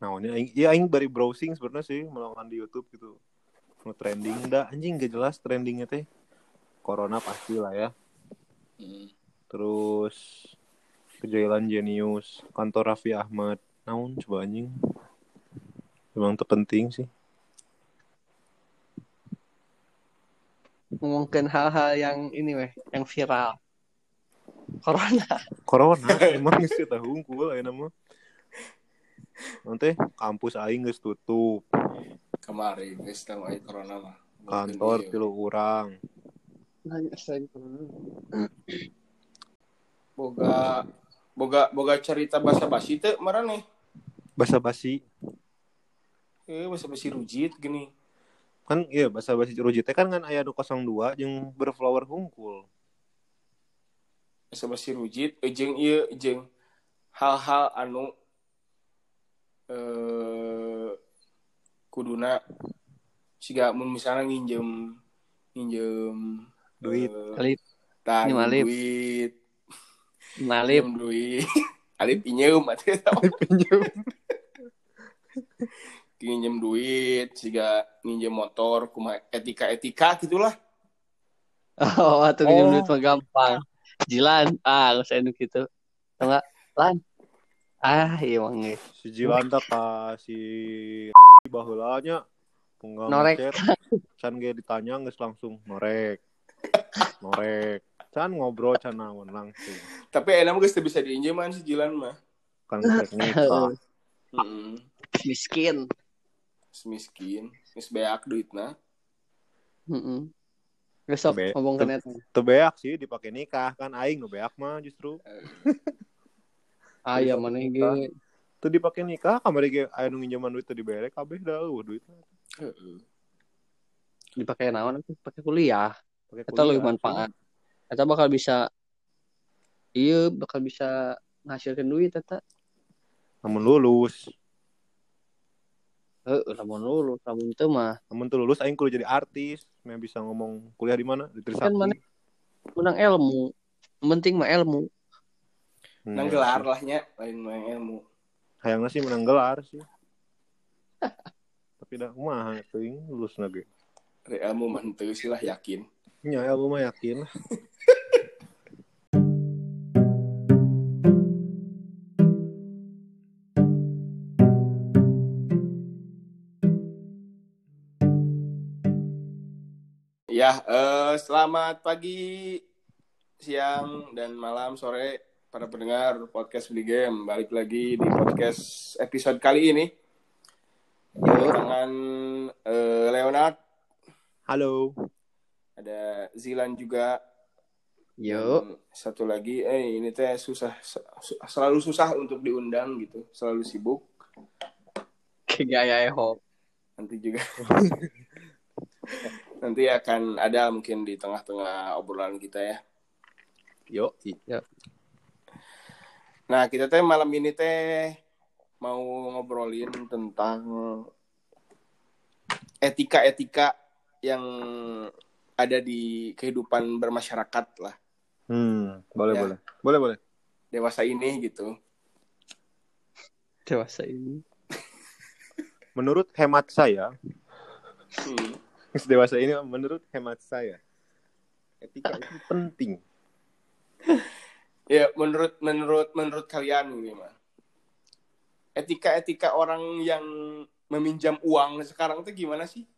Naonnya aing bari browsing sebenarnya sih melakukan di YouTube gitu. Nu trending dah anjing gak jelas trendingnya teh. Corona pasti lah ya. Terus kejailan jenius, kantor Raffi Ahmad. Naon coba anjing. Memang terpenting sih. Ngomongin hal-hal yang ini yang viral. Corona emang geus eta hungkul aya mah. Nanti kampus aing geus tutup. Kemarin geus teu aya corona mah. Kantor 3 urang. Boga cerita basa-basi teu marane. Basa-basi. Basa-basi rujit gini. Kan iya basa-basi rujit teh kan aya nu 02 jeung berflower hungkul. Basa-basi rujit jeung hal-hal anu kuduna siga mun misalnya nginjem duit. Duit. Ngalip duit. Alip pinjeum atuh pinjem duit, siga nginjem motor, kumaha etika gitulah. Oh, atuh pinjam duit mah gampang. Jilan, geus anu kitu. Tau enggak? Lan. Iya mah ge. Si Jilan teh ka si baheula nya Norek. Can ge ditanya geus langsung norek. Can ngobrol can naon langsung. Tapi enak geus teu bisa diinjeman si Jilan mah. Kan geus nikah. Miskin, geus beak duitna. Besok ngomong ke net. Teu beak sih dipake nikah kan aing nu beak mah justru. Aya maneh ge. Teu dipake nikah kamari ge aya nu nginjeman duit teu dibere kabeh da duitna. Dipake naon atuh? Pake kuliah. Eta leuwih manfaat. Eta bakal bisa ngasilkeun duit eta. Lamun lulus. Lamun lulus, lamun teu mah. Lamun teu lulus aing kudu jadi artis, mah bisa ngomong kuliah di mana? Di Trisakti. Kan maneh menang ilmu. Penting mah ilmu. Menang gelar lah nya, lain menang ilmu. Hayangna sih menang gelar sih. Tapi dah kumaha teuing lulusna ge. Re ilmu mah teu sih lah yakin. Nya ilmu mah yakin lah. Ya, selamat pagi, siang, dan malam, sore para pendengar podcast Beli Game. Balik lagi di podcast episode kali ini. Dengan Leonard. Halo. Ada Zilan juga. Yo. Satu lagi, ini teh selalu susah untuk diundang gitu, selalu sibuk. Kayak Eho. Nanti juga. Nanti akan ada mungkin di tengah-tengah obrolan kita ya. Yo. Nah, kita teh malam ini teh mau ngobrolin tentang etika-etika yang ada di kehidupan bermasyarakat lah. Boleh. Dewasa ini gitu. Dewasa ini. Menurut hemat saya, dewasa ini menurut hemat saya, etika itu penting. Ya, menurut kalian ini mah. Etika orang yang meminjam uang sekarang tuh gimana sih?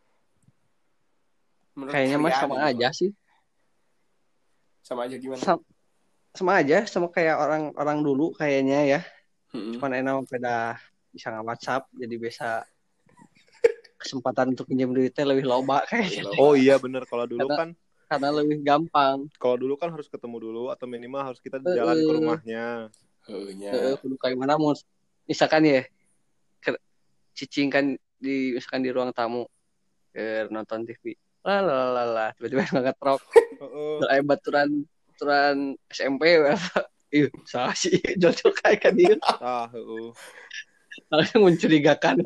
Kayaknya mah sama aja sih. Sama aja gimana? Sama aja, sama kayak orang dulu kayaknya ya. Cuman enak beda bisa nge-WhatsApp jadi bisa kesempatan untuk pinjam duitnya lebih loba kayaknya. Oh iya bener, kalau dulu karena lebih gampang. Kalau dulu kan harus ketemu dulu atau minimal harus kita jalan ke rumahnya. Kudu kayak mana mau misalkan ya cicing kan misalkan di ruang tamu nonton TV. Lah tiba-tiba ngangkat rok. Heeh. Baturan SMP salah sih jojol kayak kan dia. Langsung mencurigakan.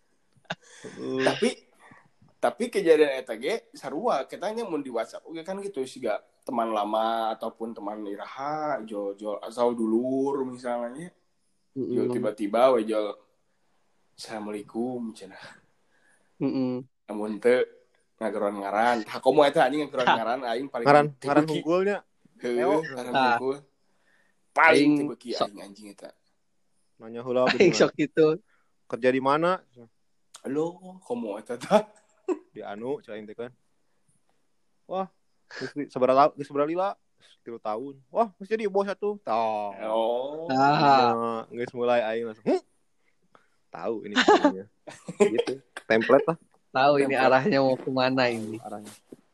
Tapi kejadian eta ge sarua ketanya mun di WhatsApp oke kan gitu siga teman lama ataupun teman iraha jol asal dulur misalnya. Jol tiba-tiba we jol Assalamualaikum cenah. Heeh. Namun teu ngageron ngaran. Hakomo eta anjing ngageron ngaran aing paling Ngaran hunggulnya. Heuh, ngaran Tah. hunggul. Paling Aing tibeuki aing anjing eta. Nanya heula Aing sok gitu. kerja di mana? Halo, komo eta tah? Di anu cai teh kan. Wah, seberapa lila? 3 tahun. Wah, masih jadi bos satu. Tah. Oh. Geus mulai aing langsung. Tahu ini caranya. Gitu. Template lah Tahu ini arahnya mau kemana ini. arahnya.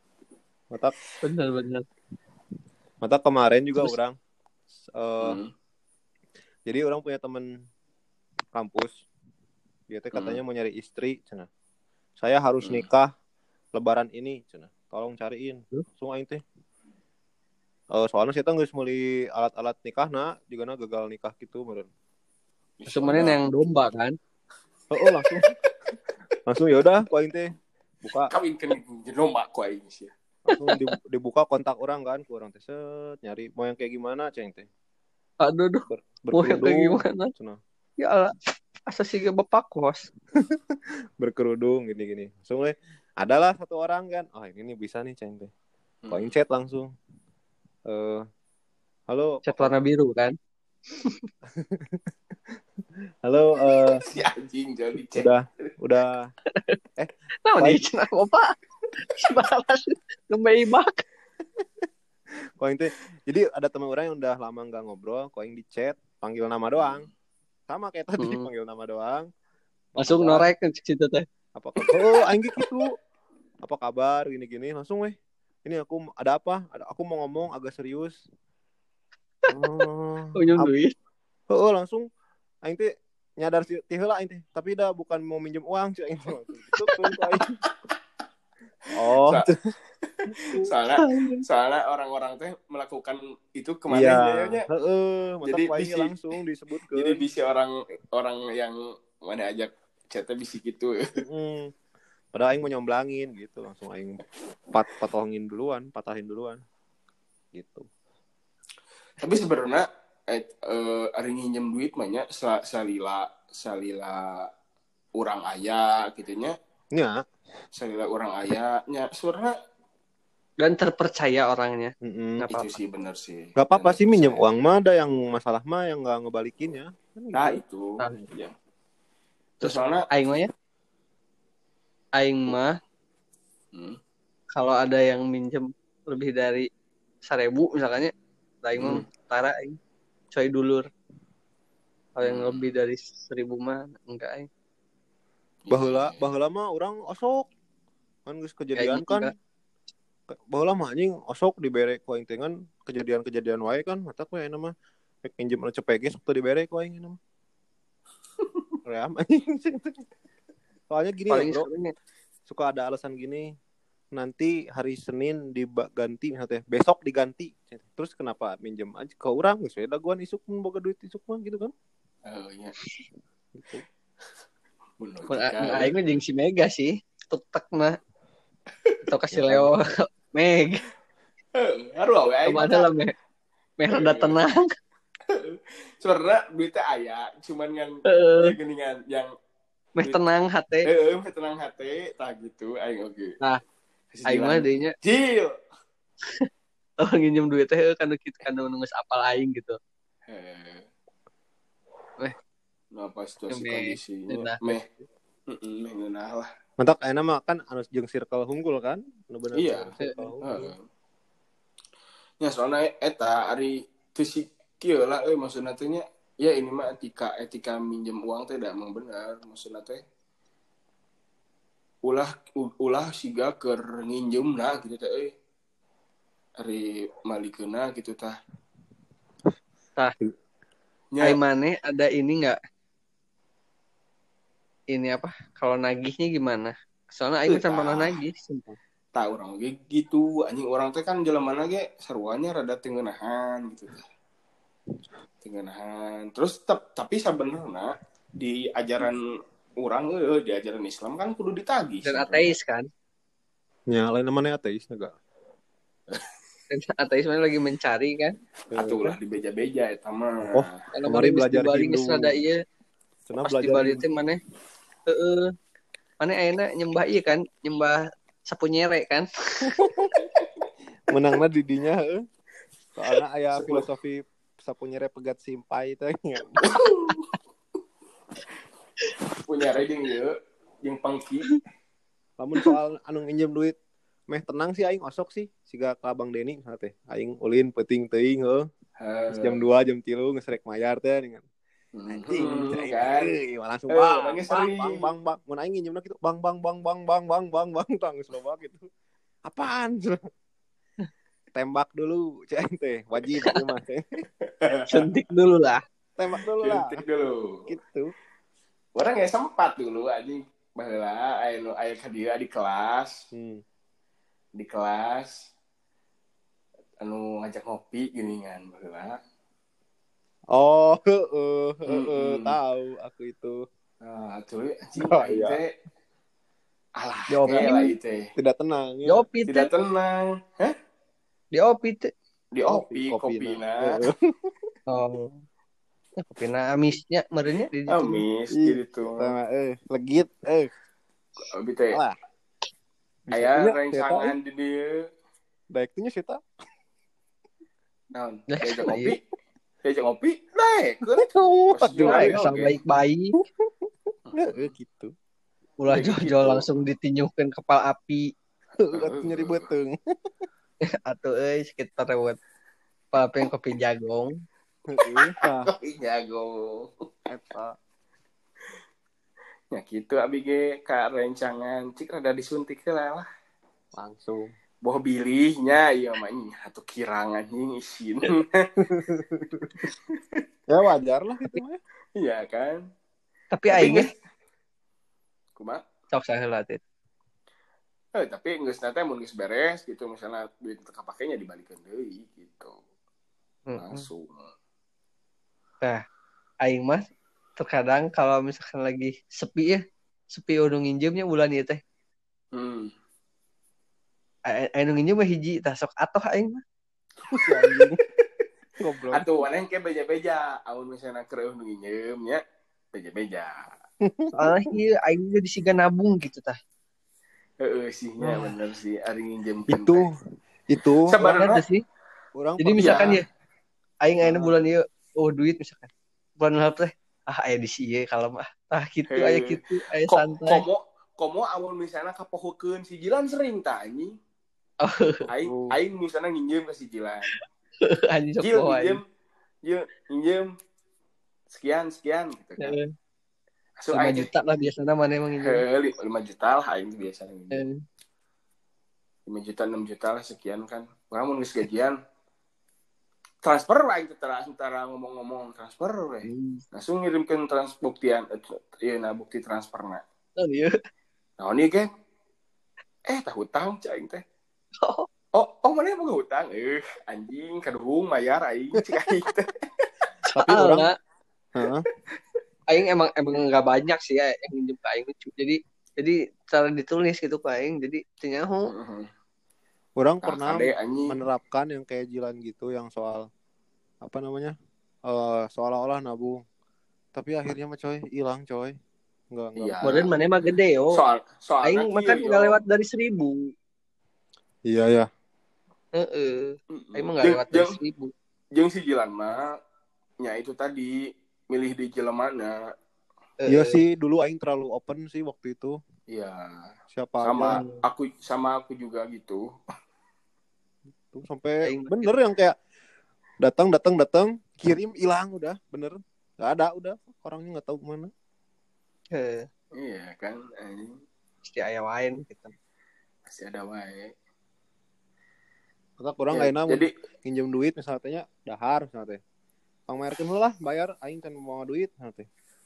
Benar. Mata kemarin juga Terus? orang jadi orang punya teman kampus. Dia teh katanya mau nyari istri, cenah. Saya harus nikah lebaran ini, cenah. Tolong cariin. Langsung aing teh. Soalnya saya geus meuli alat-alat nikahna, jigana gagal nikah gitu meureun. Sebenarnya yang domba kan. Langsung ya udah ku aing teh buka Kawinkeun domba ku aing sih. langsung dibuka kontak orang kan, ku orang teh set nyari mau yang kayak gimana ceng teh. Aduh. Mau yang kayak gimana? Cenah. Ya Allah. Asa sih bapak kos. Berkerudung gini-gini. Langsung adalah satu orang kan. Oh, ini bisa nih ceng teh. Ku aing chat langsung. Halo. Cat warna biru kan. Halo, Si anjing jadi cek. udah. Nah, di cenah bapak. Balas ngebeibak. Ku aing teh. Jadi ada teman orang yang udah lama enggak ngobrol, ku aing di chat, panggil nama doang. Sama kayak tadi panggil nama doang. Langsung norek ke situ teh. Apa kabar? Aing gitu. Apa kabar gini-gini langsung ini aku ada apa? Aku mau ngomong agak serius. Unjung duit. Langsung aing teh nyadar teh heula aing teh, tapi dah bukan mau minjem uang cuy aing. Gitu aing. Oh. Soalnya orang-orang teh melakukan itu kemana jadinya. Jadi langsung disebutkeun. Jadi bisa orang yang mana ajak chatnya bisa gitu. Padahal aing mau nyomblangin gitu, langsung aing patahin duluan. Gitu. Tapi sebenarnya ari nginjem duit mah nya salila urang aya gitu nya. Nya. Salila urang aya nya sebenarnya dan terpercaya orangnya. Itu sih benar sih. Gak apa-apa sih minjem uang mah, ada yang masalah mah yang gak ngebalikin ya. Nah itu. Ya. Terus soalnya Aing mah kalau ada yang minjem lebih dari 1.000 misalnya, Aing mah tara aing coy dulur. Kalau yang lebih dari 1.000 mah enggak aing. Baheula mah orang osok. Kan geus kejadian kan. Baheula mah anjing osok dibere ku aing teh kan kejadian wae kan mata ku aya mah pinjem anu cepege sok teu dibere ku aing mah. Ream anjing. Soalnya gini ya, bro. Suka ada alasan gini. Nanti hari Senin diganti misalnya besok diganti. Terus kenapa minjem aja ke orang? Geus we daguan isuk mun boga duit isuk mah gitu kan. Oh iya. Gitu. Aing mah jeung si Mega sih. Tek mah. Atau kasih Leo Meg. Haru we aing. Kemana lah Meg rada tenang. Sebenarnya duitnya aya, cuman kan geningan yang meh tenang hati. Meh tenang hati, tah gitu aing oge. Nah, aing mah deunya. Cil. Oh, nginjem duit teh kan kitu kan geus apal aing gitu. Apa situasi kondisinya? Meh ngeunah lah. Mantap ayeuna mah kan anu jeung circle hunggul kan? Bener. Iya. Ya soalnya eta ari teu si kieu lah maksudna teh nya ya ini mah etika minjem uang teh da emang benar maksudna teh ulah siga keur nginjemna gitu teh ari malikeuna gitu tah. Ai maneh ada ini enggak? Ini apa? Kalau nagihnya gimana? Soalnya aing can pernah nagih sumpah. Tah urang ge gitu anjing orang teh kan jelemana ge saruanya rada tengeunahan gitu tah. Tengeunahan. Terus tapi sebenarnya di ajaran urang di ajaran Islam kan kudu ditagih. Dan ateis kan? Ya, lain namanya ateis enggak? Ateis mana lagi mencari kan? Atuh lah dibeja-beja eta mah. Oh, kemarin belajar Hindu. Rada ieu. Cenah Pas di belajar Bali teh mana mana ayeuna nyembah ieu kan, nyembah sapu nyere kan. menangna di dinya heuh. Soalnya aya filosofi sapu nyere pegat simpai teh. Punya riding ya, yang pangki. Lamun soal anu nginjem duit meh tenang sih aing osok sih siga ka Bang Deni teh. Aing ulin peuting teuing heuh. Jam 2 jam 3 geus rek mayar teh dengan anjing aing Kan. langsung bang Nangis bang sering. bang bang bang mun aing nginjemna kitu bang tang geus loba gitu. Apaan? Tembak dulu cek teh wajib ieu mah teh. Suntik dulu lah. Tembak dulu lah. Suntik dulu. Gitu. Orang nggak sempat dulu anjing baheula aya ka dieu di kelas. Di kelas anu ngajak ngopi geuningan baheula. Oh, tahu aku itu. Nah, cuy, anjing iya. teh. Alah, Diopi. lah itu. Tidak tenang ya. Diopi teh. Tidak tenang. Hah? Diopi teh. Diopi kopina. Oh. Kopina amisnya merenya di ditu. Amis gitu. Sama legit Abi teh. Alah. Aya rengsangan di dieu. Daek teh nya sita. Naon? Diajak ngopi. Daek. Asal baik-baik. Gitu. Ulah jol langsung ditinyuhkeun kepala api. Atuh nyeri beuteung. Atuh sekitar lewat kepala api kopi jagong. Kopi jagong. Eta. Ya gitu abi ge ka rencangan cik rada disuntik lah. Langsung. Boh bilihnya ieu mah atuh kirang anjing isin. Ya wajar lah itu mah. Iya kan? Tapi aing kumaha? sok saheula teh. Tapi geus na teh mun geus beres gitu misalnya duit teu kapakenya dibalikeun deui gitu. Langsung. Nah, aing mah terkadang kalau misalkan lagi sepi udah nginjemnya bulan ieu teh. Aing nginjem mah hiji tah sok atoh aing mah. Si anjing. Goblok. Atuh waneng ke beja-beja, amun misalnya keur nu nginjem nya beja-beja. Soalnya ieu aing juga disiga nabung gitu tah. Heeh sih nya bener sih ari nginjem Itu sebenarnya sih. Orang jadi misalkan ya aing ayeuna bulan ieu duit misalkan. Bulan lalu teh aya di sieu kalem tah kitu aya kitu aya santai. Komo amun misalnya kapohokeun si Jilan sering tah anjing. Aing misalnya nginjem ke si Jilan. Anjing sok nginjem sekian gitu kan. 5 juta lah biasanya mana emang nginjem. 5 juta lah aing biasanya nginjem. 5 juta 6 juta lah sekian kan. Mun geus gajian transfer lah itu antara ngomong-ngomong transfer we. Langsung ngirimkeun buktian bukti transferna. Oh iya. Nah, ini kan tah hutang cing teh. Oh mana yang mau hutang? Anjing kadung mayar aing cik aing teh. Tapi orang aing emang enggak banyak sih ya yang minjem ke aing. Jadi cara ditulis gitu ke aing. Jadi tinyaho. Orang pernah menerapkan yang kayak Jilan gitu yang soal apa namanya? Seolah-olah nabung. Tapi akhirnya mah coy hilang coy. Enggak. Kemudian mana mah gede yo. Soal aing makan enggak lewat dari 1.000. Iya ya. Aing mah enggak lewat dari 1.000. Jeung si Jilan mah nya itu tadi milih di jelemana. Iya sih dulu aing terlalu open sih waktu itu. Iya. Siapa sama aku juga gitu. Tuh sampai bener yang kayak datang kirim hilang udah bener. Enggak ada udah orangnya enggak tahu kemana. Iya kan pasti aya wae gitu. Pasti ada wae. Kata orang ayeuna jadi pinjam duit misalnya dahar misalnya teh. Pangmayarkeun heula lah bayar aing can mau duit misalnya teh.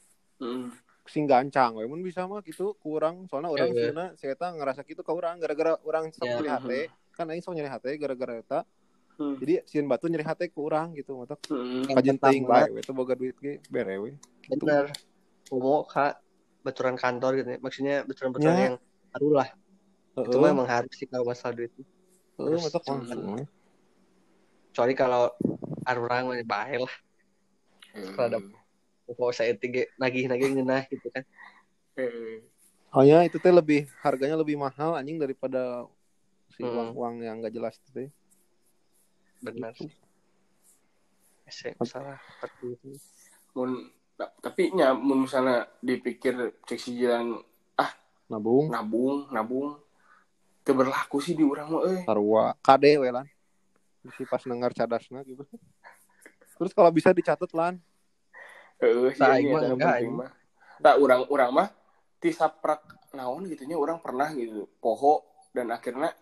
Sing gancang we mun bisa mah gitu kurang soalnya orang sieuna saya eta ngerasa gitu ka urang gara-gara urang sok nyeri hate kan aing sok nyeri hate gara-gara eta. Jadi sieun batu nyeri hate ku urang gitu matak. Kajen teuing bae we teh boga duit ge bere we. Bener. Umum Kak baturan kantor gitu ya. Maksudnya baturan-baturan yang baru lah. Itu mah emang harus sih kalau masalah duit. Matak langsung. Kecuali kalau orang mah bae lah. Pokok saya tiga nagih-nagih ngeunah gitu kan. Soalnya itu teh harganya lebih mahal anjing daripada si uang-uang yang enggak jelas itu teh. Benar Gitu. sih. Salah seperti itu. Tapi nya mun misalnya dipikir cek si jalan nabung teu berlaku sih di urang mah sarua kade we lan si pas dengar cadasna gitu. Terus kalau bisa dicatat lan sih ini yang penting mah tak urang mah ti saprak naon gitunya urang pernah gitu poho dan akhirnya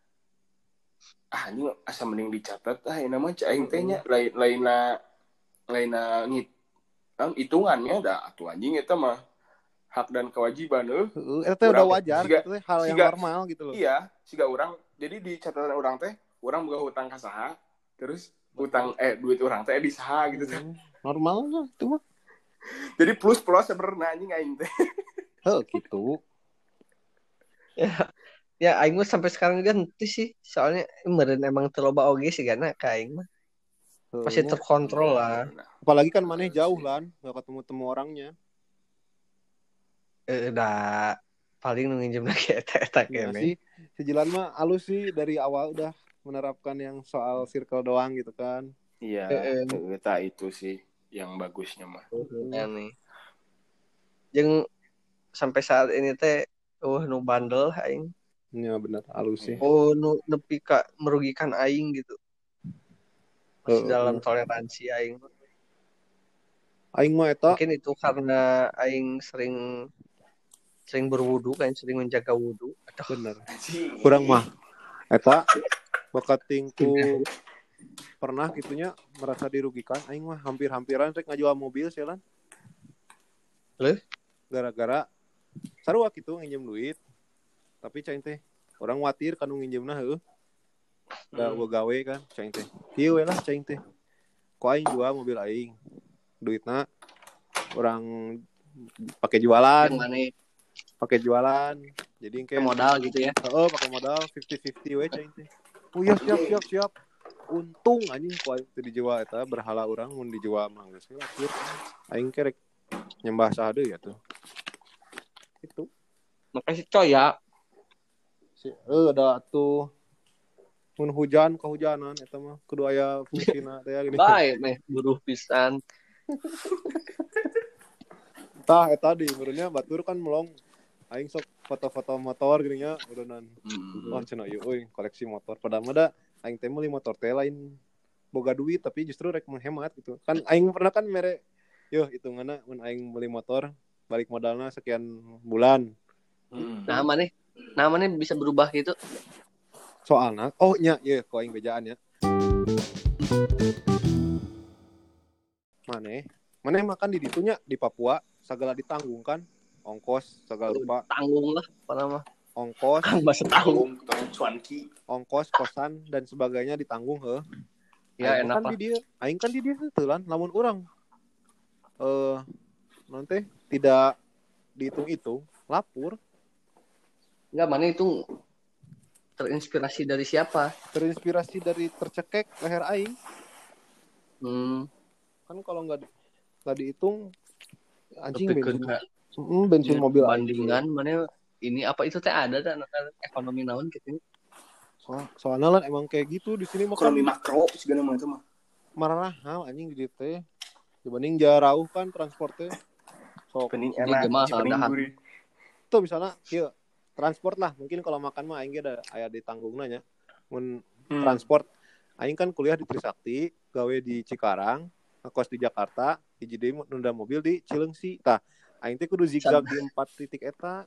ini asa mending dicatat ini mah aing teh nya lainna hitungannya dah atuh anjing eta mah hak dan kewajiban eta udah wajar gitu teh hal yang normal gitu loh. Iya, siga urang jadi di catatan urang teh urang boga hutang ka saha terus hutang duit urang teh di saha gitu teh. Normal lah itu mah. Jadi plus sebenarnya anjing aing teh. Gitu. Ya aing mah sampai sekarang juga henteu sih. Soalnya meureun emang teu loba oge sih gana ka aing mah. Pasti terkontrol lah. Apalagi kan maneh jauh lan, enggak ketemu orangnya. Udah paling nginjem lagi eta kene. Si Jilan mah alus sih dari awal udah menerapkan yang soal circle doang gitu kan. Iya, eta itu sih yang bagusnya mah. Nih. Jeung sampai saat ini teh nu bandel aing. Iya benar alus sih. Nu nepi ka merugikan aing gitu. Masih dalam toleransi aing. Aing mah eta mungkin itu karena aing sering berwudu kan, sering menjaga wudu. Bener. Kurang mah eta bakat tingku pernah gitunya merasa dirugikan aing mah hampir-hampiran rek ngajual mobil sih lan. Gara-gara sarua kitu nginjem duit. Tapi cain teh orang watir kanu nginjemna heuh. Da gawe kan cain teh. Ieu we lah cain teh. Ku aing jual mobil aing. Duitna orang pakai jualan. Pakai jualan. Jadi kayak modal gitu ya. Pakai modal 50-50 we cain teh. Oh ya siap. Untung anjing ku aing teu dijual eta berhala urang mun dijual mah geus akhir. Aing kerek nyembah saha deui atuh. Itu. Makasih coy ya. Ada tuh mun hujan kehujanan eta mah kudu aya fungsina teh gini. Bae meh buruh pisan. Tah eta di meureunnya batur kan melong aing sok foto-foto motor gini nya ureunan. Wah cenah ieu euy koleksi motor. Padahal mah da aing teh meuli motor teh lain boga duit tapi justru rek menghemat gitu. Kan aing pernah kan mere hitunganna mun aing meuli motor balik modalna sekian bulan. Nah mana bisa berubah gitu. Soalnya kok aing bejaan ya. Maneh makan di ditunya di Papua segala ditanggung kan. Ongkos segala rupa. Tanggung lah mah. Ongkos, tanggung cuanki. Ongkos, kosan dan sebagainya ditanggung heuh. Ya enak kan aing kan di dieu teu lan lamun urang nanti tidak dihitung-hitung lapur. Enggak, mana itu terinspirasi dari siapa? Terinspirasi dari tercekek leher aing. Kan kalau nggak dihitung anjing bensin mobil bandingan mana ini apa itu teh ada kan ekonomi naon gitu. Soalnya lah emang kayak gitu di sini mah ekonomi makro segala macam mah. Marahal anjing di dieu teh. Dibanding jauh kan transportnya. So pening enak pening. Tuh misalnya kieu transport lah mungkin kalau makan mah aing ge ada aya ditanggungna nya. Mun transport aing kan kuliah di Trisakti, gawe di Cikarang, ngekos di Jakarta, hiji deui nunda mobil di Cileungsi. Tah, aing teh kudu zigzag di 4 titik eta.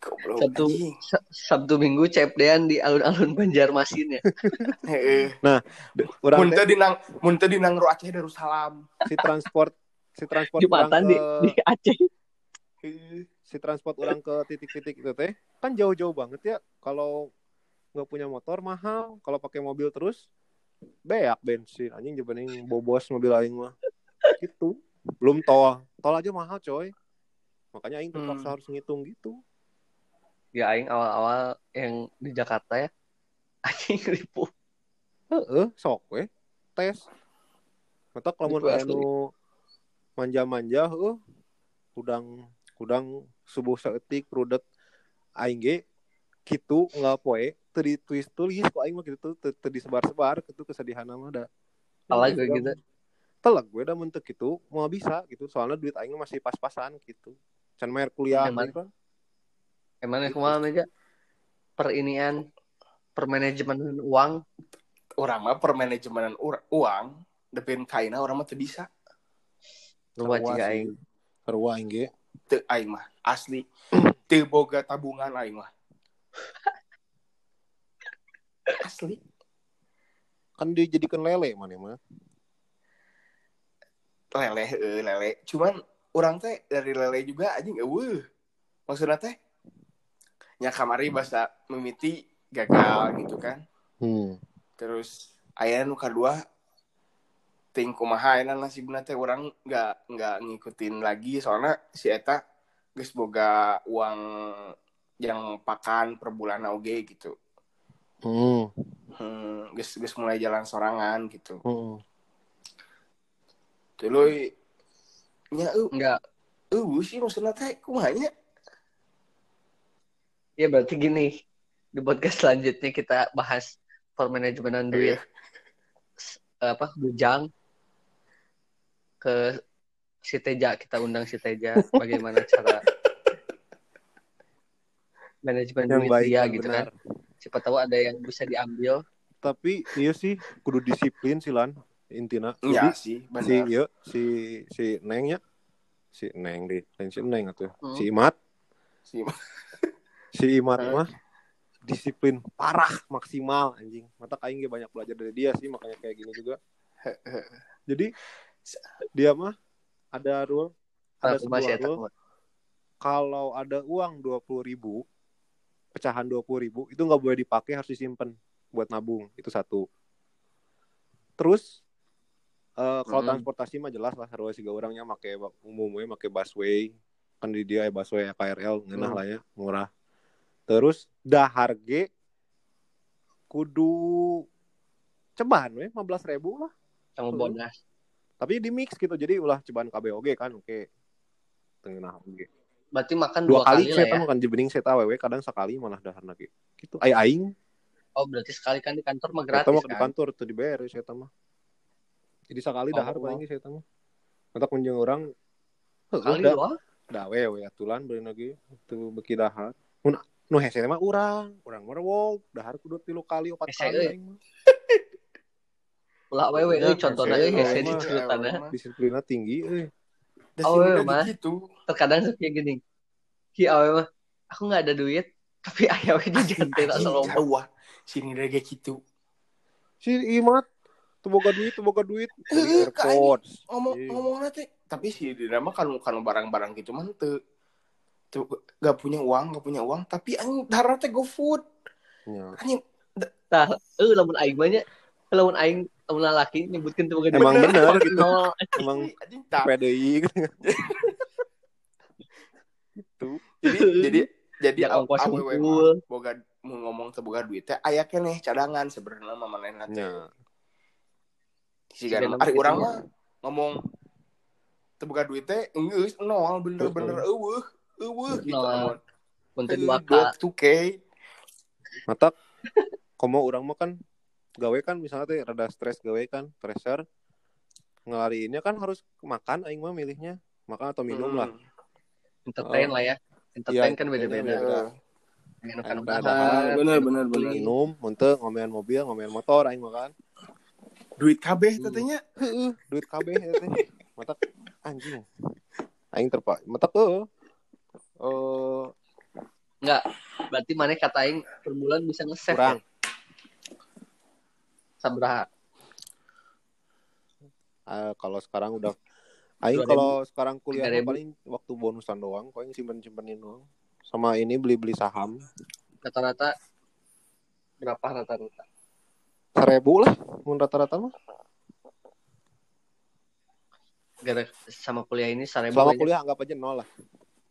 Sabtu Minggu CFD-an di alun-alun Banjarmasin ya. Nah, urang mun teh di Nangro Aceh Darussalam. Si transport Jumatan di Aceh. Si transport orang ke titik-titik itu teh kan jauh-jauh banget ya. Kalau nggak punya motor mahal, kalau pakai mobil terus beak bensin anjing dibanding bobos mobil aing mah. Gitu. Belum tol aja mahal coy. Makanya aing terpaksa harus ngitung gitu. Ya aing awal-awal yang di Jakarta ya anjing ribu. Sok we tes. Mata lamun aya manja-manja udang subuh saeutik rudet aing ge kitu nggak poe teu ditulis ku aing mah kitu teu disebar-sebar kitu kesedihan mah da. Salah gue gitu. Telag gue udah mentek gitu mau bisa gitu soalnya duit aing masih pas-pasan gitu. Can bayar kuliah gitu kan. Emang kumaha meja permanajemen uang. Orang mah permanajemenan uang depin kaina orang mah teu bisa. Lupa jika aing. Sarua aing ge. Teu aing mah asli teu boga tabungan aing mah. Asli. Kan dijadikan lele mana mah. Lele. Cuman orang teh dari lele juga anjing eueuh. Maksudnya teh nya kamari bahasa mimiti gagal gitu kan. Terus aya nu kadua ting kumaha ayeuna nasibna teh urang enggak ngikutin lagi soalnya si eta geus boga uang yang pakan per bulan oge gitu. Geus mulai jalan sorangan gitu. Tuluy nya enggak sih maksudna teh kumaha nya? Ya berarti gini, di podcast selanjutnya kita bahas permanajemenan duit bujang ke si Teja, kita undang si Teja bagaimana cara manajemen yang duit baik dia dan gitu benar. Kan. Siapa tahu ada yang bisa diambil. Tapi iya sih kudu disiplin sih Lan intina. Iya Jadi sih, benar. Si Neng ya. Si Neng di lain si Neng atuh. Si Imat. Si Imat mah disiplin parah maksimal anjing. Mata aing ge banyak belajar dari dia sih makanya kayak gini juga. Jadi dia mah ada sebuah rule. Kalau ada uang 20.000 pecahan 20.000 itu nggak boleh dipakai, harus disimpan buat nabung. Itu satu. Terus kalau transportasi mah jelas lah harus juga orangnya umumnya pakai busway. Kan di dia busway KRL ngeunah lah ya, murah. Terus dahar ge kudu ceban we 15.000 lah sama bonus. Tapi di mix gitu. Jadi ulah ceban KBOG kan oke. Tengah oge. Berarti makan 2 kali lah ya. Makan jebening saya tahu kadang sekali malah daharna ge. Gitu. Aing. Oh, berarti sekali kan di kantor mah gratis kan. Di kantor tuh dibayar saya mah. Jadi sekali dahar paling ge saya mah. Mata kunjung orang sekali doang. Da we atulan beuna ge teu beki dahar. Nu hese mah urang merwog dahar kudu 3 kali 4 kali aing mah. Ulah wewe contohna hese di ceritana. Disiplinna tinggi euy. Udah gitu. Terkadang kayak gini. Ki awe mah aku enggak ada duit tapi aya we jajan teh salom. Sini lagi gitu. Si Imat teu boga duit. AirPods. Ngomongna teh tapi si dina mah kan barang-barang gitu mah teu gak punya uang tapi anjing dahar teh GoFood. Nya. Anjing tah lamun aing mah nya lamun aing lamun lalaki nyebutkeun teu boga duit. Emang bener gitu. No. Emang PDI gitu. Jadi ongkos awewe boga ngomong teu boga duit teh aya keneh cadangan sebenarnya mah manehna teh. Sigan ari urang mah ngomong teu boga duit teh geus nol bener-bener eueuh gitu amun. Mun teu 2K. 2K. Mata komo urang mah kan gawe kan misalnya teh rada stres gawe kan, pressure. Ngelariinnya kan harus makan aing mah milihnya, makan atau minum lah. Entertain lah ya. Entertain kan beda-beda. Bener. Minum, muntah, ngomean mobil, ngomean motor aing mah kan. Duit kabeh katanya. Heeh, duit kabeh teh. Mata anjing. Aing mata enggak. Berarti mana kata aing per bulan bisa nge-save. Kurang. Sabaraha? Kalau sekarang udah aing kalau sekarang kuliah paling waktu bonusan doang, paling simpen-simpenin doang. Sama ini beli-beli saham. Rata-rata berapa rata-rata? 1.000 lah, mun rata-rata mah. Gara sama kuliah ini 1.000 selama aja. Kuliah anggap aja 0 lah.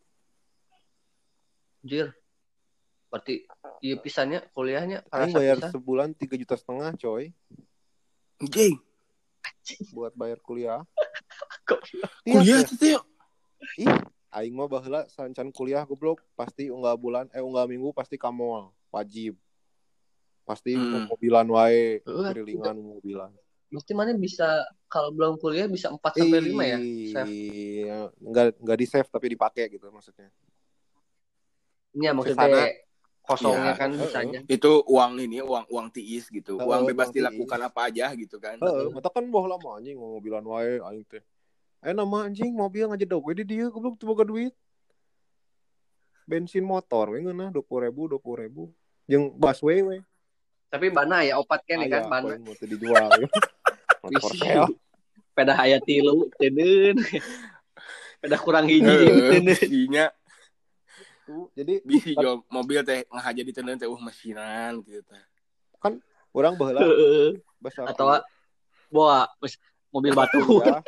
Anjir. Berarti iya pisannya kuliahnya aing bayar sebulan 3,5 juta coy. Anjing. Buat bayar kuliah. Kuliah tuh. Ih, aing mah baheula sancan kuliah goblok, pasti unggal minggu pasti ka mall, wajib. Pasti mobilan wae, kerilingan mobilan. Mesti mana bisa kalau belum kuliah bisa 4-5 ya? Iya, enggak di-save tapi dipakai gitu maksudnya. Iya, maksudnya kosongnya kan bisa aja. Itu uang tiis gitu. Uang bebas dilakukan apa aja gitu kan. Mata kan baheula mah anjing mobilan wae aing teh. Nama anjing mobil ngajedog we di dieu goblok teu boga duit. Bensin motor we ngeunah 20.000 jeung busway we. Tapi bana ya opat kan ya kan bana. Mau teu dijual. Bisa. Peda aya 3 teuneun. Peda kurang hiji teuneun. Jadi bisi jual mobil teh ngahaja di teuneun teh mesinan gitu teh. Kan urang baheula atau bawa mobil batu.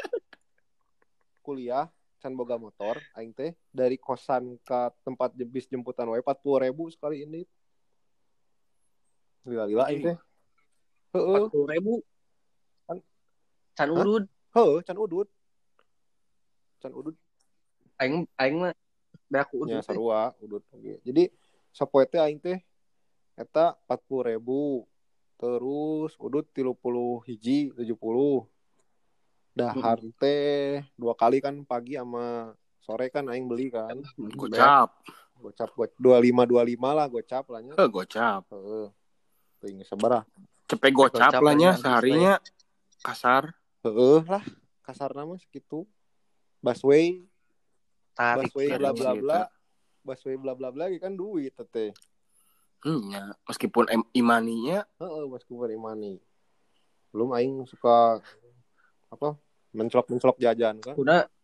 Kuliah can boga motor aing teh dari kosan ke tempat bis jemputan wae 40.000 sekali ini. Gila aing teh. 40.000. Can udud. Can udud. Aing mah beak udud. Ya sarua udud oge. Jadi sapoe teh aing teh eta 40.000. Terus udud 30 hiji 70. Dahar teh 2 kali kan pagi sama sore kan aing beli kan. Gocap 25 lah gocap lah nya. Gocap. Teuing sabaraha. Cepet gocap lah nya seharinya kasar. Lah kasarna mah segitu. Busway bla bla bla. Busway bla bla bla kan duit teh. Ya, meskipun imaninya meskipun imani. Belum aing suka apa? Mencolok jajan kan.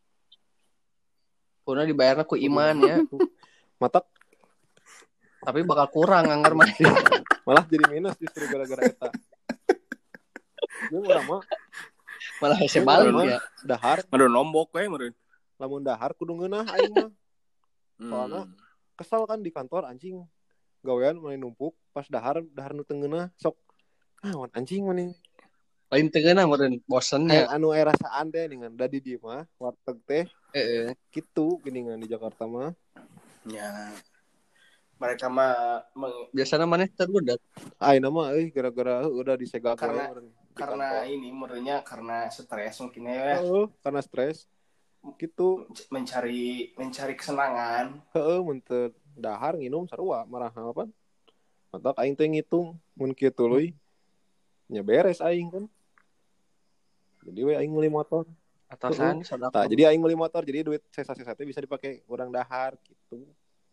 Kuna dibayarna ku iman ya. Matak. Tapi bakal kurang anggar mah. Malah jadi minus justru gara-gara eta. Jeung urang mah malah hese balik ya. Dahar. Meureun lombok we meureun. Lamun dahar kudu ngeunah aing mah. Soalna kesal kan di kantor anjing. Gawean mulai numpuk pas dahar nu teu ngeunah sok anjing meuning. Lain teu ngeunah meureun bosen ya. Anu aya rasaan teh dengan da di dieu mah warteg teh. Kitu geuningan di Jakarta mah. Ya. Mereka mah biasanya mana terbudak. Ayeuna mah gara-gara udah disegak karena ini menurutnya karena stres mungkin ya. Karena stres. Gitu mencari kesenangan. Mun teu dahar nginum sarua marah apa? Matak aing teh ngitung mun kieu tuluy nya beres aing kan. Jadi we aing meuli motor. Atasan sadaqah. Jadi aing meuli motor jadi duit sesa-sesa teh bisa dipakai urang dahar gitu.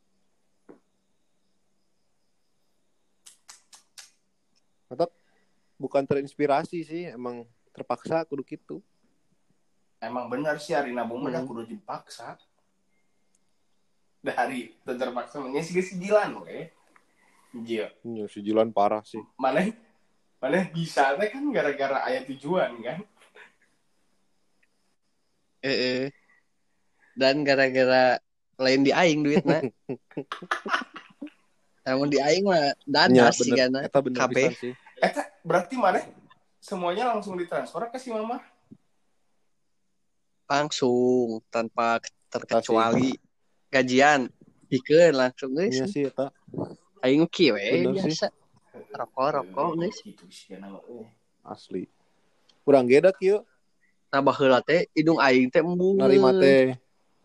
Atau bukan terinspirasi sih, emang terpaksa kudu gitu. Emang benar sih hari nabung mah kudu dipaksa. Dari terpaksa mah sigilan we. Iya. Sigilan parah sih. Mana bisa teh kan gara-gara aya tujuan kan. Dan gara-gara lain di aing duitna. Namun di aing mah dadas sih kan. Eta bener pisan sih. Eta berarti mana semuanya langsung ditransfer ke si mama? Langsung tanpa terkecuali gajian pikeun langsung geus. Iya sih eta. Aing kieu we biasa. Rokok geus. Gitu sih nama asli. Urang ge da kieu. Nah baheula teh hidung aing teh embung. Narima teh.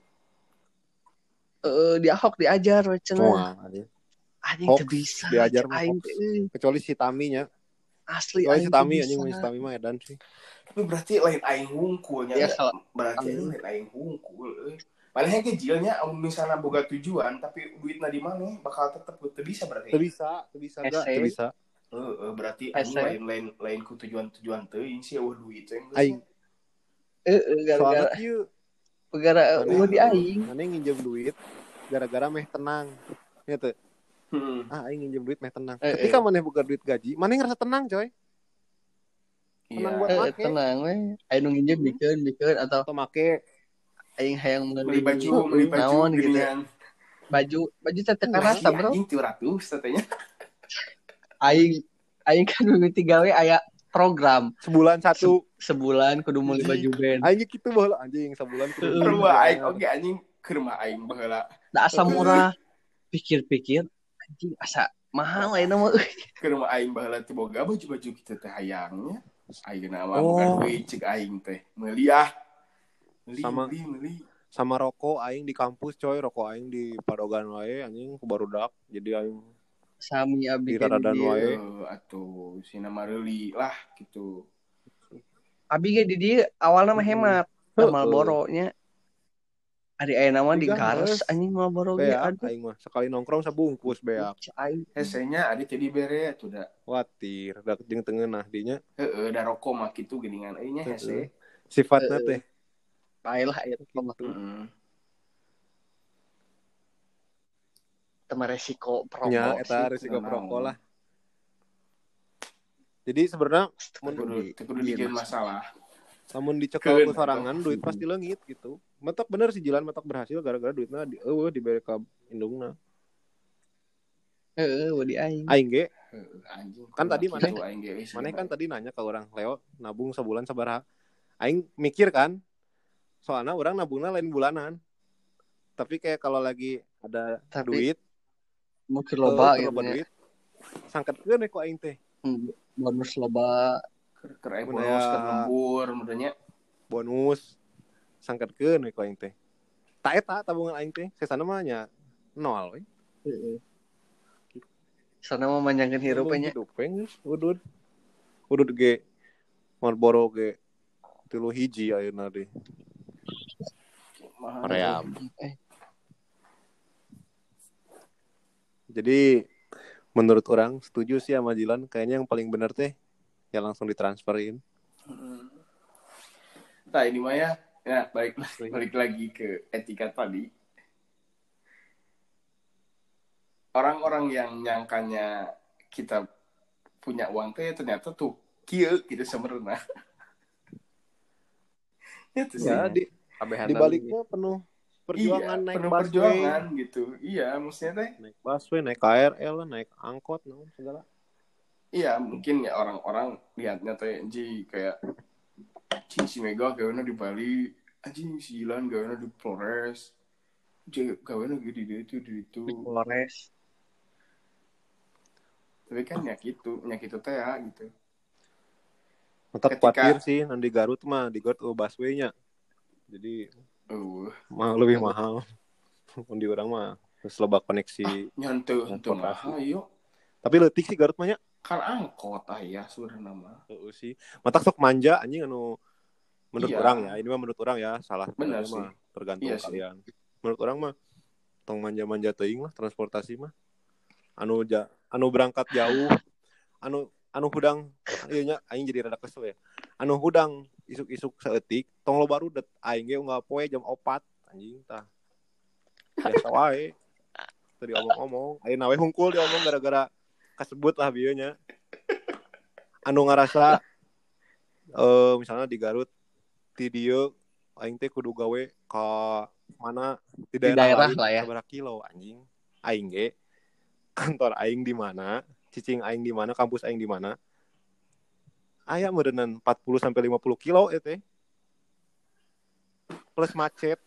Di Ahok diajar we cenah. Anjing teu bisa diajar mah aing kecuali si Taminya. Asli aing si Tami anjing si Tami mah edan sih. Tapi berarti lain aing hungkulnya. Ya, berarti lain aing hungkul. Padahal kecilnya misalnya boga tujuan tapi duitna di mana bakal tetep teu bisa berarti. Teu bisa. Berarti aing lain ku tujuan teuing sih duit teh. Aing. Gara-gara di aing. Mana nginjem duit gara-gara meh tenang. Ya teu. Aing nginjem duit meh tenang. Ketika maneh buka duit gaji, maneh ngerasa tenang, coy. Tenang buat make. Tenang we. Aing nu nginjem bikeun atau make. Aing hayang beli baju naon gitu. Baju teh teu karasa, Bro. Anjing 200 tetenya. Aing kan mimiti gawe aya program sebulan 1. sebulan kudu meuli baju band. Aing kitu baheula anjing sebulan kudu. Rumah aing oke anjing ke rumah aing baheula. Da asa murah. Pikir-pikir anjing asa mahal ayeuna mah. Ke rumah aing baheula teh boga baju-baju kitu teh hayangnya. Ayeuna mah boga duit cek aing teh. Meuli ah. Meuli. Sama rokok aing di kampus coy, rokok aing di padogan wae anjing barudak. Jadi aing sami abi di radadan wae atuh sina mareuli lah gitu. Abi ge di dieu awalna mah hemat. Marlboro nya. Ari ayeuna mah digares anjing Marlboro ge aduh. Aing mah sekali nongkrong sabungkus beak. Hesenya adi teh dibere atuh da. Watir da jeung teungeunah dinya. Heeh, da rokok mah kitu geuningan euy nya hese. Sifatna teh baelah aya rokok mah. Teu resiko perokok. Nya eta resiko perokok lah. Jadi sebenarnya kudu dijieun masalah. Lamun dicekel ku sorangan duit pasti leungit gitu. Mentok bener si Jilan mentok berhasil gara-gara duitna dibere ka indungna. Di aing. Aing ge. Anjing. Kan tadi maneh kan tadi nanya ke orang, Leo nabung sebulan sabaraha? Aing mikir kan. Soalnya orang nabungna lain bulanan. Tapi kayak kalau lagi ada duit mungkin loba gitu duit. Sangketkeun ku aing teh. Bonus loba. Keur bonus keur lembur mudanya. Bonus sangketkeun we ku aing teh. Ta eta tabungan aing teh sesana mah nya nol we. Heeh. Sana mah manjangkeun hirup nya. Udud ge Marlboro ge 3 hiji ayeuna deh. Korea. Jadi menurut orang setuju sih sama Jilan, kayaknya yang paling benar teh ya langsung ditransferin. Nah ini mah ya balik lagi ke etika tadi. Orang-orang yang nyangkanya kita punya uang teh ternyata tuh kieu gitu sebenarnya. Ya di baliknya penuh perjuangan, naik penuh perjuangan gitu. Iya, maksudnya teh naik busway, naik KRL, naik angkot, segala. Iya, mungkin ya orang-orang lihatnya teh kayak si Mega gaweana di Bali, anjing si Ilan gaweana di Flores. Gaweana gitu di itu. Flores. Tapi kan ya gitu teh ya gitu. Mantap khawatir sih nanti Garut mah di Garut busway-nya. Jadi lebih mahal. Di orang mah terus loba koneksi nyantu mahal yuk. Tapi leutik sih Garut mah nya. Kan angkot ya sebenarnya mah. Heeh sih. Matak sok manja anjing anu menurut orang ya. Ini mah menurut orang ya, salah benar mah tergantung kalian. Sih. Menurut orang mah tong manja-manja teuing lah transportasi mah. Anu berangkat jauh, anu hudang ieu nya aing jadi rada kesel ya. Anu hudang isuk-isuk saeutik tong lo baru det aing ge unggal poe jam 4 anjing tah. Biasa wae. Tadi omong-omong, ayeuna we hungkul diomong gara-gara kasebut lah bieu nya. Anu ngarasa misalnya di Garut ti dieu aing teh kudu gawe ka mana di daerah lah ya. Sabaraha kilo anjing. Aing ge kantor aing di mana, cicing aing di mana, kampus aing di mana. Aya meureunnan 40 sampai 50 kilo teh. Plus macet.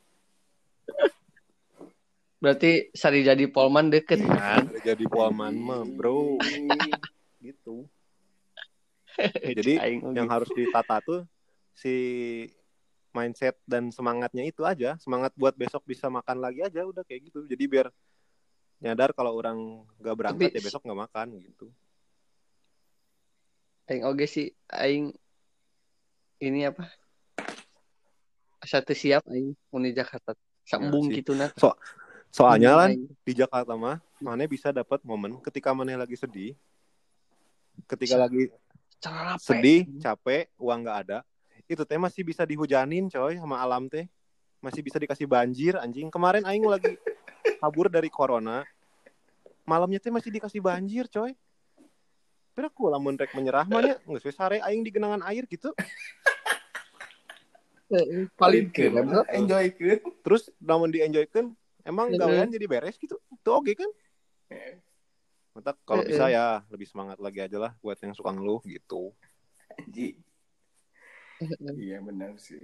Berarti sari jadi Polman deket kan? Jadi Polman mah, bro. Gitu. Jadi yang harus ditata tuh si mindset dan semangatnya itu aja. Semangat buat besok bisa makan lagi aja udah kayak gitu. Jadi biar nyadar kalau orang gak berangkat ya besok gak makan gitu. Aing oge sih aing ini apa? Satu siap aing uni Jakarta. Sambung gitu nah. Soalnya kan di Jakarta mah mana bisa dapat momen ketika mana lagi sedih. Ketika lagi sedih, capek, uang gak ada. Itu teh masih bisa dihujanin coy sama alam teh. Masih bisa dikasih banjir anjing. Kemarin aing lagi kabur dari corona, malamnya teh masih dikasih banjir coy. Pero aku lamun rek menyerah mah nya geus we sare aing di genangan air gitu. Palingkeun enjoykeun. Terus lamun di-enjoykeun emang gawean jadi beres gitu. Tuh oke kan? Mantap kalau bisa ya lebih semangat lagi aja lah buat yang suka ngeluh gitu. Anjing. Iya benar sih.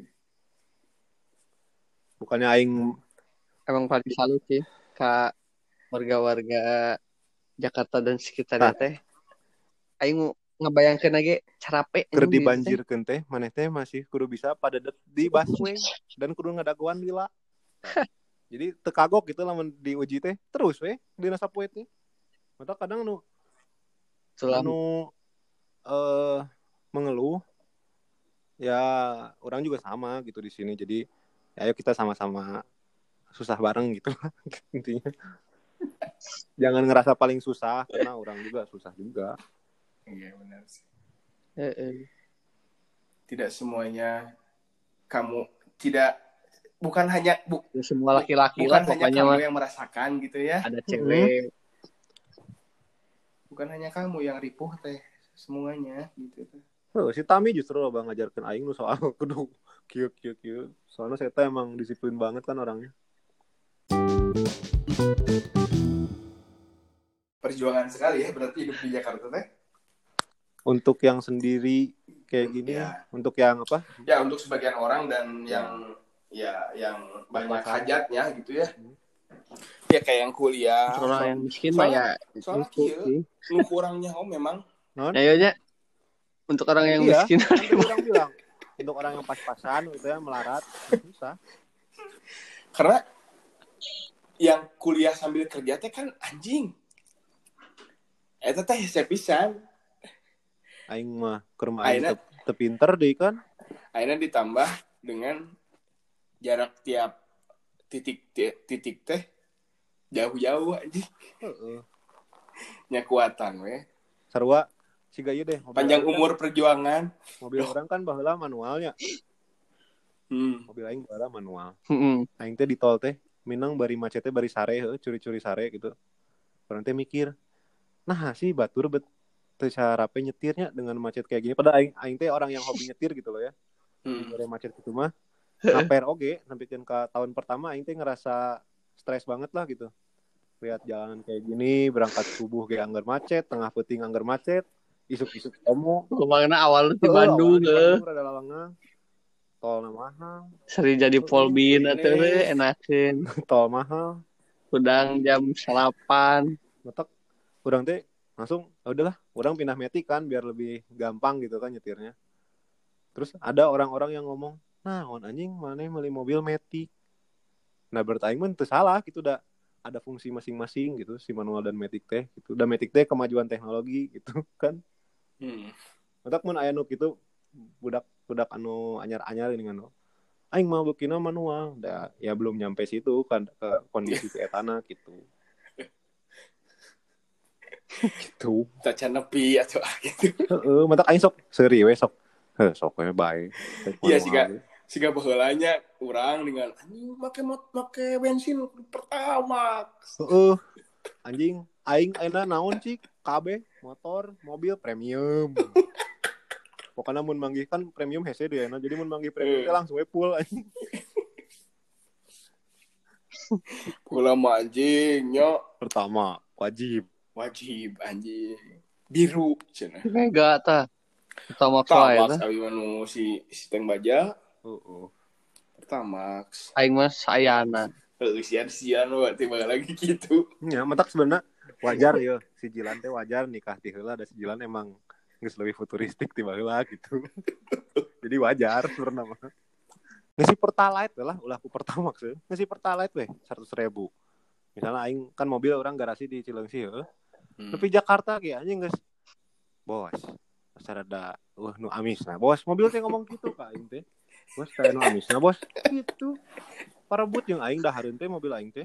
Bukannya aing Emang paling salut sih ke warga-warga Jakarta dan sekitarnya teh. Aing ngebayangkeun lagi carape keur anjing gitu teh. dibanjirkeun teh maneh teh masih kudu bisa pada di busway dan kudu ngadaguan lila. Jadi teu kagok gitu lamun diuji teh terus we dina sapoe teh. Mata kadang anu mengeluh ya orang juga sama gitu di sini. Jadi ayo kita sama-sama susah bareng gitu intinya. Jangan ngerasa paling susah karena orang juga susah juga. Iya benar sih. Tidak semuanya kamu bukan hanya semua laki-laki bukan lah hanya kamu yang merasakan gitu ya. Ada cewek. Bukan hanya kamu yang ripuh teh, semuanya gitu teh. Si Tami justru loba ngajarkeun aing nu soal kudu kieu. Soalnya saya emang disiplin banget kan orangnya. Perjuangan sekali ya berarti hidup di Jakarta teh. Untuk yang sendiri kayak gini, ya. Untuk yang apa? Ya untuk sebagian orang dan yang banyak hajatnya gitu ya. Ya kayak yang kuliah. Orang yang miskin mah ya. Soalnya kieu, lu kurangnya memang. Ya untuk orang yang miskin. Orang bilang untuk orang yang pas-pasan gitu ya melarat susah. Karena yang kuliah sambil kerja teh kan anjing. Eta teh sepisan. Aing mah keur aing teu pinter deui kan. Aina ditambah dengan jarak tiap titik teh jauh-jauh anjing. Nya kuatan we. Sarua siga ieu deh. Panjang umur perjuangan. Mobil orang kan baheula manualnya. Mobil aing baheula manual. Aing teh di tol teh minang bari macet teh bari sare heuh, curi-curi sare gitu. Orang teh mikir, nah sih batur teu sarape nyetirnya dengan macet kayak gini. Padahal aing teh orang yang hobi nyetir gitu loh ya. Bari macet gitu mah. Ngaper oge sampikeun ka tahun pertama aing teh ngerasa stres banget lah gitu. Lihat jalanan kayak gini, berangkat subuh ge anggar macet, tengah peuting anggar macet, isuk-isuk tomo. Kemana awal di Bandung rada lawangan. Tol mahal. Seri jadi polbin atau enakeun. Tol mahal. Udang jam 8. Matak urang teh langsung udahlah, orang pindah Matic kan biar lebih gampang gitu kan nyetirnya. Terus ada orang-orang yang ngomong, "Nah, on anjing maneh meuli mobil Matic." Nah, berarti mah teu salah gitu, udah ada fungsi masing-masing gitu si manual dan Matic teh gitu. Udah Matic teh kemajuan teknologi gitu kan. Matak mun aya nu kitu budak anu anyar-anyar ini kan. Aing mah beukina manual. Da ya belum nyampe situ kan ke kondisi si etana gitu. Gitu. Tacan nepi atau gitu. Heeh, matak aing sok seuri we sok. Sok we bae. Iya siga baheulanya urang dengan anjing make bensin pertama. Heeh. Anjing aing ayeuna naon sih? KB, motor, mobil premium. Pokoknya mun manggih kan premium hese deui na. Jadi mun manggih premium teh langsung we full anjing. Pula mah anjing nya Pertama wajib anjing. Biru cenah. Mega tah. Pertamax wae tah. Abi manu si Teng Baja. Pertamax. Aing mah sayana. Sian-sian we tiba lagi gitu. Ya, matak sebenarnya wajar ya si Jilan teh wajar nikah ti heula da si Jilan emang geus leuwih futuristik ti baheula gitu. Jadi wajar sebenarnya mah. Ngisi Pertalite lah ulah ku Pertamax ya. Ngisi Pertalite we 100.000. Misalnya aing kan mobil orang garasi di Cileungsi heuh. Tapi Jakarta ge anjing geus bos. Sarada nu amisna. Bos, mobil teh ngomong gitu ka aing teh. Bos kayak nu amisna bos. Gitu. Parebut jeung aing dahareun teh mobil aing teh.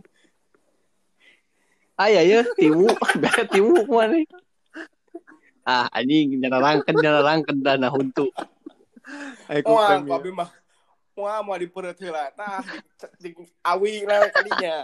Aya ya timu, gaya timu mana? Anjing nyararangkeun dana huntu. Wah, abi mah mau dipereut heula tah di awi lah kadinya.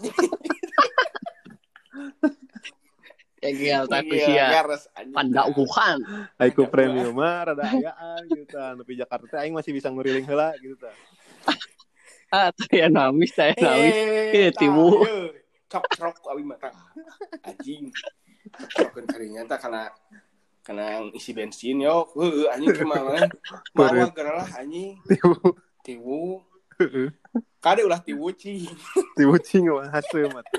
Egel tak sia. Panda ukuhan. Aiku premium mah rada ayaan gitu tah. Nepi Jakarta teh aing masih bisa nguriling heula gitu tah. Taya namis. Ieu timu. Cok abi mah tah. Anjing. Cokeun karinya tah kana Karena isi bensin yo, anjing kemana? Mawa geralah anjing. Tiwu. Kade ulah tiwu cing. Tiwu cing mah haseum atuh.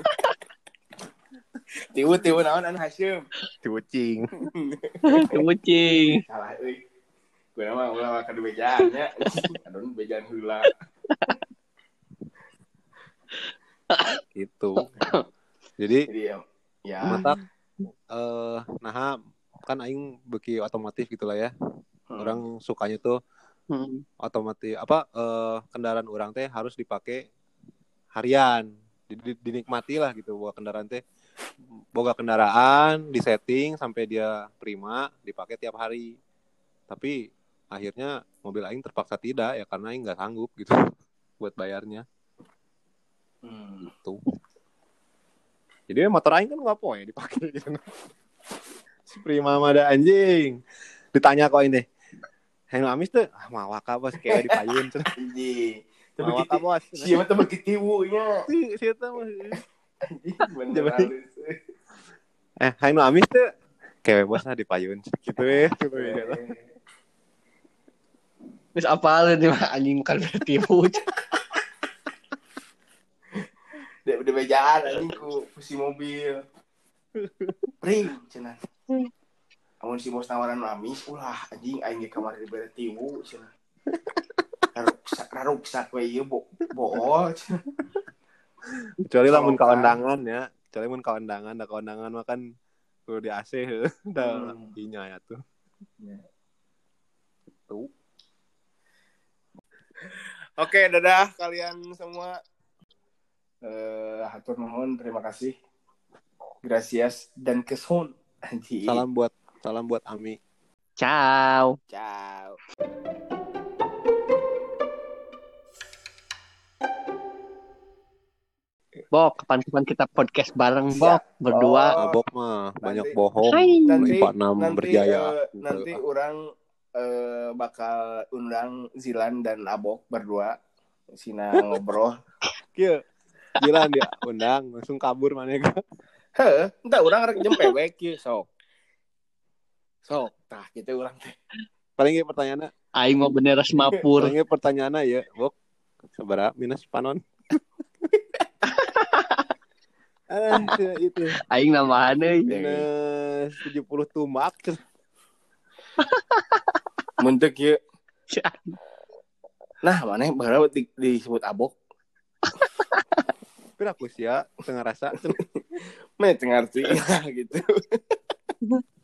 Tiwu naon anu haseum. Tiwu cing. Tiwu cing. Salah euy. Gue mah ulah ka bejaan nya. Adon bejaan heula. Gitu. Jadi ya. Matak nah kan aing beki otomotif gitulah ya. Orang sukanya tuh otomotif kendaraan orang teh harus dipakai harian. Dinikmati lah gitu bawa kendaraan teh. Boga kendaraan disetting sampai dia prima dipakai tiap hari. Tapi akhirnya mobil aing terpaksa tidak ya karena aing nggak sanggup gitu buat bayarnya. Tuh. Jadi motor aing kan nggak poe dipakai gitu. Si prima mah ada anjing. Ditanya kok ini. Heng amis tuh mawa ka bos kayak dipayun cenah. Anjing. Mawa ka bos. Siapa teh beuki tiwunya. Si eta mah. Bener halus. Heng amis tuh kayak bos lah dipayun gitu ya. Wis apal nih mah anjing kan tiwu. Dek udah bejaan anjing ku si mobil. Pring cenah. Amun si bos tawaran amis ulah anjing aing ge kamari dibere tiwu cenah. Raruksak we ieu bool. Kecuali lamun kaundangan ya. Kecuali mun kaundangan, da kaundangan mah kan kudu di AC heuh. Da inya ya tuh. Tuh. Oke, dadah kalian semua. Hatur nuhun, terima kasih. Gracias dan keson. Salam buat Ami. Ciao. Bok, kapan-kapan kita podcast bareng, Bok, berdua. Abok mah banyak bohong. Nanti berjaya. Nanti orang bakal undang Zilan dan Abok berdua. Sina ngobrol. Kieu. Zilan dia undang langsung kabur maneh ka. Heuh, entah orang rek jam pewek kieu sok. Tah kitu urang teh. Paling ge pertanyaanna Aing mau bener semapur. paling ge pertanyaanna ya, Bok. Sabaraha minus panon? Itu. Aing nambahan euy. Minus 70 tumak. Muntek kieu. Nah, maneh baheula disebut Abok. Tapi aku sih ya tengah rasa. Meh tengarti gitu.